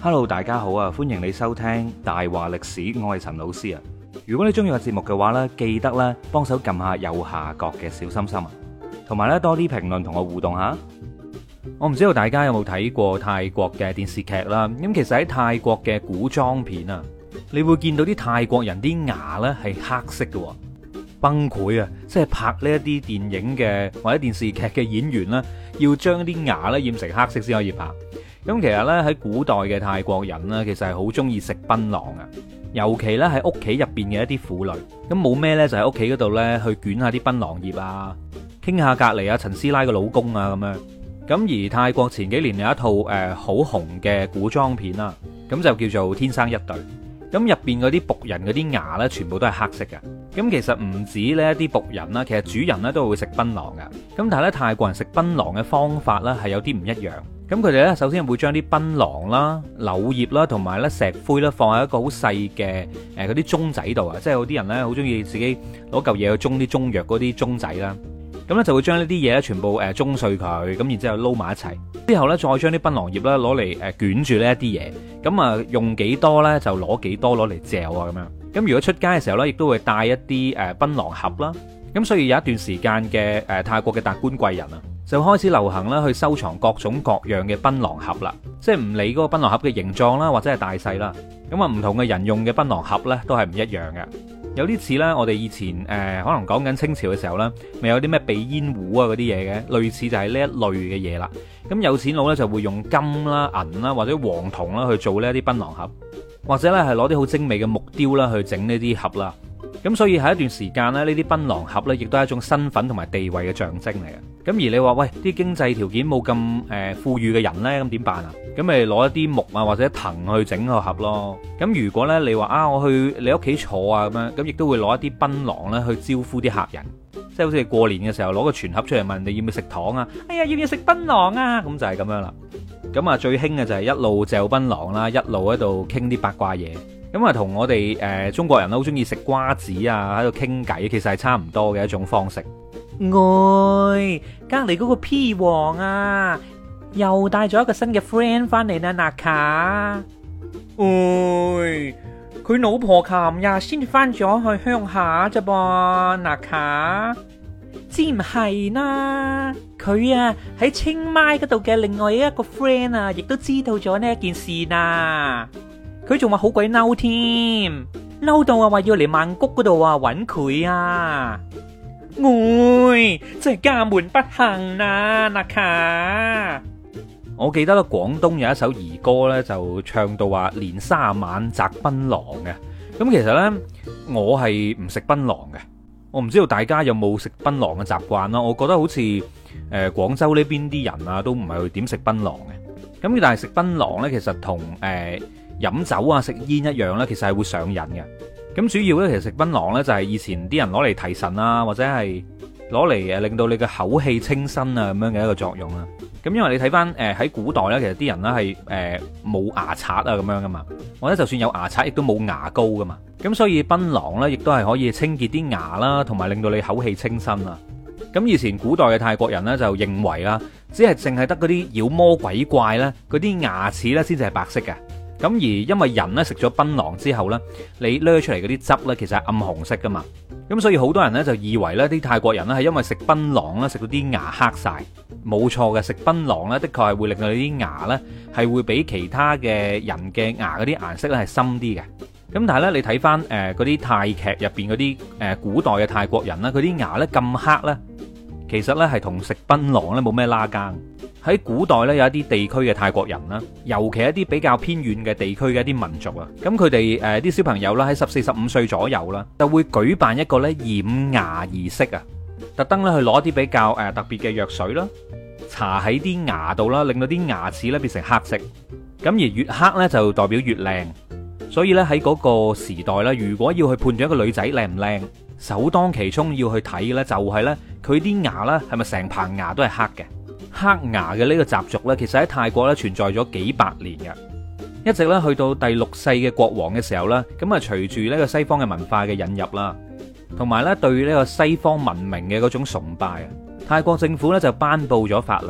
Hello，大家好啊！歡迎你收聽大話歷史，我係陳老師啊。如果你中意個節目嘅話呢，記得咧幫手撳下右下角嘅小心心啊，同埋咧多啲評論同我互動下。我唔知道大家有冇睇過泰國嘅電視劇啦。咁其實喺泰國嘅古裝片啊，你會見到啲泰國人啲牙呢係黑色嘅，崩潰啊！即係拍呢一啲電影嘅或者電視劇嘅演員啦，要將啲牙呢染成黑色先可以拍。咁其實咧喺古代嘅泰國人呢，其實係好中意食檳榔啊，尤其咧喺屋企入邊嘅一啲婦女，咁冇咩呢，就喺屋企嗰度呢，去捲下啲檳榔葉啊，傾下隔籬啊陳師奶嘅老公啊咁樣。咁而泰國前幾年有一套好紅嘅古裝片啦，咁就叫做《天生一對》。咁入邊嗰啲僕人嗰啲牙呢，全部都係黑色嘅。咁其實唔止呢一啲僕人啦，其實主人呢都會食檳榔嘅。咁但係咧泰國人食檳榔嘅方法呢，係有啲唔一樣。咁佢哋咧首先會將啲檳榔啦、柳葉啦同埋咧石灰啦放喺一個好細嘅嗰啲盅仔度啊，即係有啲人咧好中意自己攞嚿嘢去盅啲中藥嗰啲盅仔啦。咁咧就會將呢啲嘢咧全部盅碎佢，咁然之後撈埋一齊，之後咧再將啲檳榔葉咧攞嚟捲住呢一啲嘢，咁啊用幾多咧就攞幾多攞嚟嚼啊咁樣。咁如果出街嘅時候咧，亦都會帶一啲檳榔盒啦。咁所以有一段時間嘅泰國嘅達官貴人啊，就開始流行啦去收藏各種各樣嘅檳榔盒啦，即係唔理嗰個檳榔盒嘅形狀啦或者係大細啦。咁啊唔同嘅人用嘅檳榔盒咧都係唔一樣嘅。有啲似咧，我哋以前可能講緊清朝嘅時候咧，咪有啲咩鼻煙壺啊嗰啲嘢嘅，類似就係呢一類嘅嘢啦。咁有錢佬咧就會用金啦、銀啦或者黃銅啦去做呢一啲檳榔盒，或者咧係攞啲好精美嘅木雕啦去整呢啲盒啦。咁所以喺一段時間咧，呢啲檳榔盒咧亦都係一種身份同埋地位嘅象徵嚟嘅。咁而你話喂，啲經濟條件冇咁富裕嘅人咧，咁點辦啊？咁咪攞一啲木啊或者藤去整個盒咯。咁如果咧你話啊，我去你屋企坐啊咁樣，咁亦都會攞一啲檳榔咧去招呼啲客人，即係好似過年嘅時候攞個全盒出嚟問你要唔要食糖啊？哎呀，要唔要食檳榔啊？咁就係咁樣啦。咁啊最興嘅就係一路嚼檳榔啦，一路喺度傾啲八卦嘢。咁啊，同我哋中國人好中意食瓜子啊，喺度傾偈，其實係差唔多嘅一種方式。喂，隔籬嗰個 P 王啊，又帶咗一個新嘅 friend 翻嚟啦，納卡。喂，佢老婆琴日先翻咗去鄉下咋噃，納卡。知唔係啦，佢啊喺清邁嗰度嘅另外一個 friend 啊，亦都知道咗呢一件事啦。佢仲話好鬼嬲添，嬲到話要嚟曼谷嗰度啊揾佢啊！喂，真係家門不幸啊，納卡！我記得咧，廣東有一首兒歌咧，就唱到話年卅晚摘檳榔嘅。咁其實咧，我係唔食檳榔嘅。我唔知道大家有冇食檳榔嘅習慣啦。我覺得好似廣州呢邊啲人啊，都唔係去點食檳榔嘅。咁但係食檳榔咧，其實同飲酒啊、食煙一樣咧，其實係會上癮嘅。咁主要咧，其實食檳榔咧就係以前啲人攞嚟提神啊，或者係攞嚟令到你嘅口氣清新啊咁樣嘅一個作用啦。咁因為你睇翻喺古代咧，其實啲人咧係冇牙刷啊咁樣噶嘛，或者就算有牙刷，亦都冇牙膏噶嘛。咁所以檳榔咧，亦都係可以清潔啲牙啦，同埋令到你口氣清新啊。咁以前古代嘅泰國人咧就認為啦，只係淨係得嗰啲妖魔鬼怪咧，嗰啲牙齒咧先至係白色嘅。咁而因為人咧食咗檳榔之後咧，你掠出嚟嗰啲汁咧，其實係暗紅色噶嘛。咁所以好多人咧就以為咧啲泰國人咧係因為食檳榔咧食到啲牙黑晒。冇錯嘅，食檳榔咧的確係會令到你啲牙咧係會比其他嘅人嘅牙嗰啲顏色咧係深啲嘅。咁但係咧你睇翻嗰啲泰劇入邊嗰啲古代嘅泰國人咧，佢啲牙咧咁黑咧，其實咧係同食檳榔咧冇咩拉更。喺古代咧有一啲地區嘅泰國人啦，尤其一啲比較偏遠嘅地區嘅一啲民族啊，咁佢哋啲小朋友啦喺14、15歲左右啦，就會舉辦一個咧染牙儀式啊，特登咧去攞啲比較特別嘅藥水啦，搽喺啲牙度啦，令到啲牙齒咧變成黑色。咁而越黑咧就代表越靚，所以咧喺嗰個時代咧，如果要去判斷一個女仔靚唔靚，首當其衝要去睇嘅咧就係咧佢啲牙咧係咪成棚牙都係黑嘅。黑牙嘅呢個習俗呢，其實喺泰國咧存在咗幾百年嘅，一直咧去到第6世嘅國王嘅時候呢，咁啊隨住呢個西方嘅文化嘅引入啦，同埋咧對呢個西方文明嘅嗰種崇拜啊，泰國政府咧就頒布咗法令，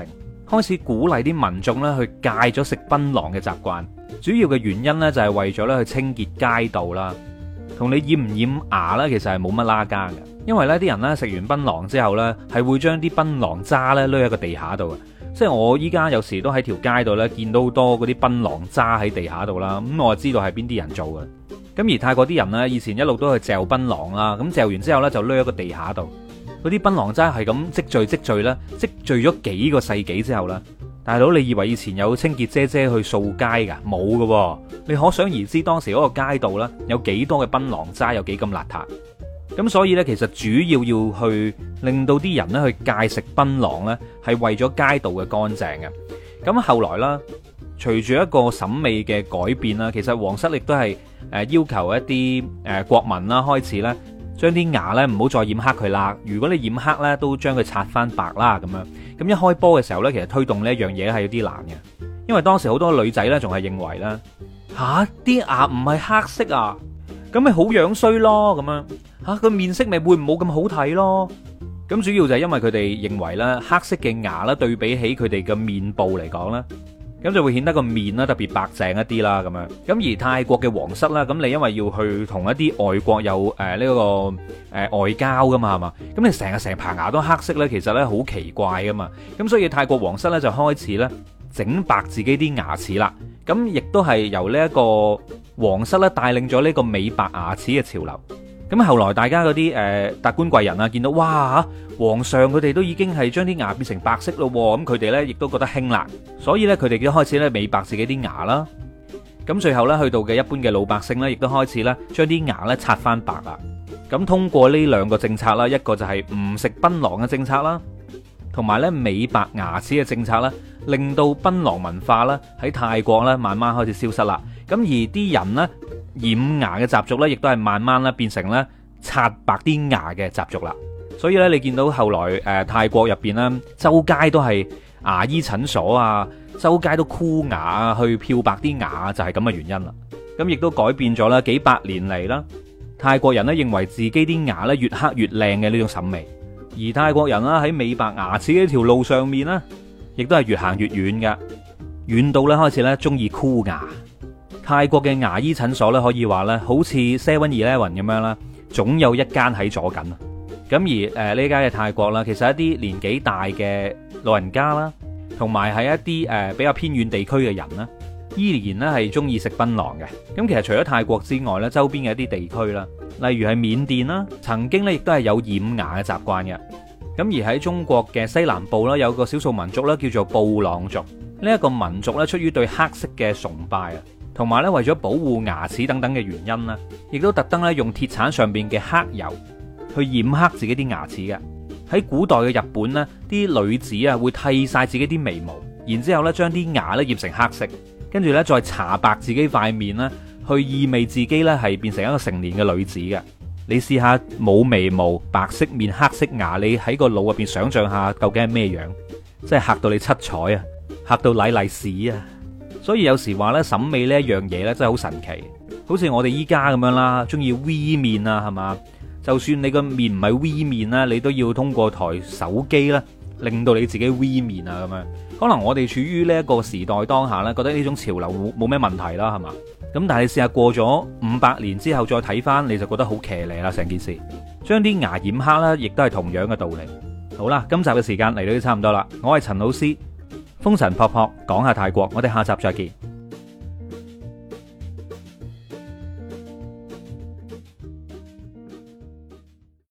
開始鼓勵啲民眾咧去戒咗食檳榔嘅習慣。主要嘅原因咧就係為咗咧去清潔街道啦，同你染唔染牙咧其實係冇乜拉更嘅。因為咧啲人咧食完檳榔之後咧係會將啲檳榔渣咧攞喺個地下度嘅。即係我依家有時都喺條街度咧見到好多嗰啲檳榔渣喺地下度啦，咁我就知道係邊啲人做嘅。咁而泰國啲人呢，以前一路都去嚼檳榔啦，咁嚼完之後呢，就攞喺個地下度，嗰啲檳榔渣係咁積聚啦，積聚咗幾個世紀之後啦，大佬你以為以前有清潔姐姐去掃街噶？冇㗎，你可想而知當時嗰個街道呢，有幾多嘅檳榔渣，有幾咁邋遢。咁所以呢，其實主要去令到啲人呢去戒食檳榔呢，係為咗街道嘅乾淨嘅。咁後來啦，隨住一個審美嘅改變啦，其實皇室亦都係要求一啲國民啦，開始咧將啲牙咧唔好再染黑佢啦。如果你染黑咧，都將佢刷翻白啦咁樣。咁一開波嘅時候咧，其實推動呢一樣嘢係有啲難嘅，因為當時好多女仔咧仲係認為咧吓啲牙唔係黑色啊，咁咪好樣衰咯咁樣吓，個面色咪會冇咁好睇咯。咁主要就係因為佢哋認為咧黑色嘅牙咧對比起佢哋嘅面部嚟講咧，咁就會顯得個面啦特別白淨一啲啦咁樣。咁而泰國嘅皇室啦，咁你因為要去同一啲外國有呢個外交噶嘛，係嘛？咁你成排牙都黑色咧，其實咧好奇怪噶嘛。咁所以泰國皇室咧就開始咧整白自己啲牙齒啦。咁亦都係由呢一個皇室咧帶領咗呢個美白牙齒嘅潮流。咁後來大家嗰啲達官貴人啊，見到哇皇上佢哋都已經係將啲牙變成白色咯，咁佢哋呢亦都覺得興啦，所以呢，佢哋都開始咧美白自己啲牙啦。咁最後呢，去到嘅一般嘅老百姓呢，亦都開始咧將啲牙呢刷翻白啦。咁通過呢兩個政策啦，一個就係唔食檳榔嘅政策啦，同埋呢美白牙齒嘅政策啦，令到檳榔文化啦喺泰國呢慢慢開始消失啦。咁而啲人呢，染牙嘅習俗咧，亦都係慢慢咧變成咧刷白啲牙嘅習俗啦。所以咧，你見到後來泰國入邊咧，周街都係牙醫診所啊，周街都箍牙啊，去漂白啲牙，就係咁嘅原因啦。咁亦都改變咗啦，幾百年嚟啦，泰國人咧認為自己啲牙咧越黑越靚嘅呢種審美，而泰國人啦喺美白牙齒呢條路上面咧，亦都係越行越遠嘅，遠到咧開始咧中意箍牙。泰國嘅牙醫診所咧，可以話咧，好似 7-Eleven 咁樣啦，總有一間喺左近。咁而呢間嘅泰國啦，其實一啲年紀大嘅老人家啦，同埋係一啲比較偏遠地區嘅人啦，依然咧係中意食檳榔嘅。咁其實除咗泰國之外咧，周邊嘅一啲地區啦，例如係緬甸啦，曾經咧亦都係有染牙嘅習慣嘅。咁而喺中國嘅西南部啦，有個少數民族咧叫做布朗族。呢一個民族咧，出於對黑色嘅崇拜啊，同埋咧為咗保護牙齒等等嘅原因啦，亦都特登咧用鐵鏟上邊嘅黑油去染黑自己啲牙齒嘅。喺古代嘅日本呢，啲女子啊會剃晒自己啲眉毛，然之後咧將啲牙咧染成黑色，跟住咧再搽白自己塊面啦，去意味自己咧係變成一個成年嘅女子嘅。你試下冇眉毛、白色面、黑色牙，你喺個腦入邊想象下究竟係咩樣？真係嚇到你七彩啊，嚇到瀨瀨屎啊！所以有時話咧審美呢一樣嘢咧真係好神奇，好似我哋依家咁樣啦，中意 V 面啊，係嘛？就算你個面唔係 V 面啦，你都要通過台手機啦，令到你自己 V 面啊咁樣。可能我哋處於呢一個時代當下咧，覺得呢種潮流冇咩問題啦，係嘛？咁但係你試下過咗500年之後再睇翻，你就覺得好騎呢啦成件事。將啲牙染黑啦，亦都係同樣嘅道理。好啦，今集嘅時間嚟到都差唔多啦，我係陳老師，風塵僕僕講下泰國，我哋下集再見。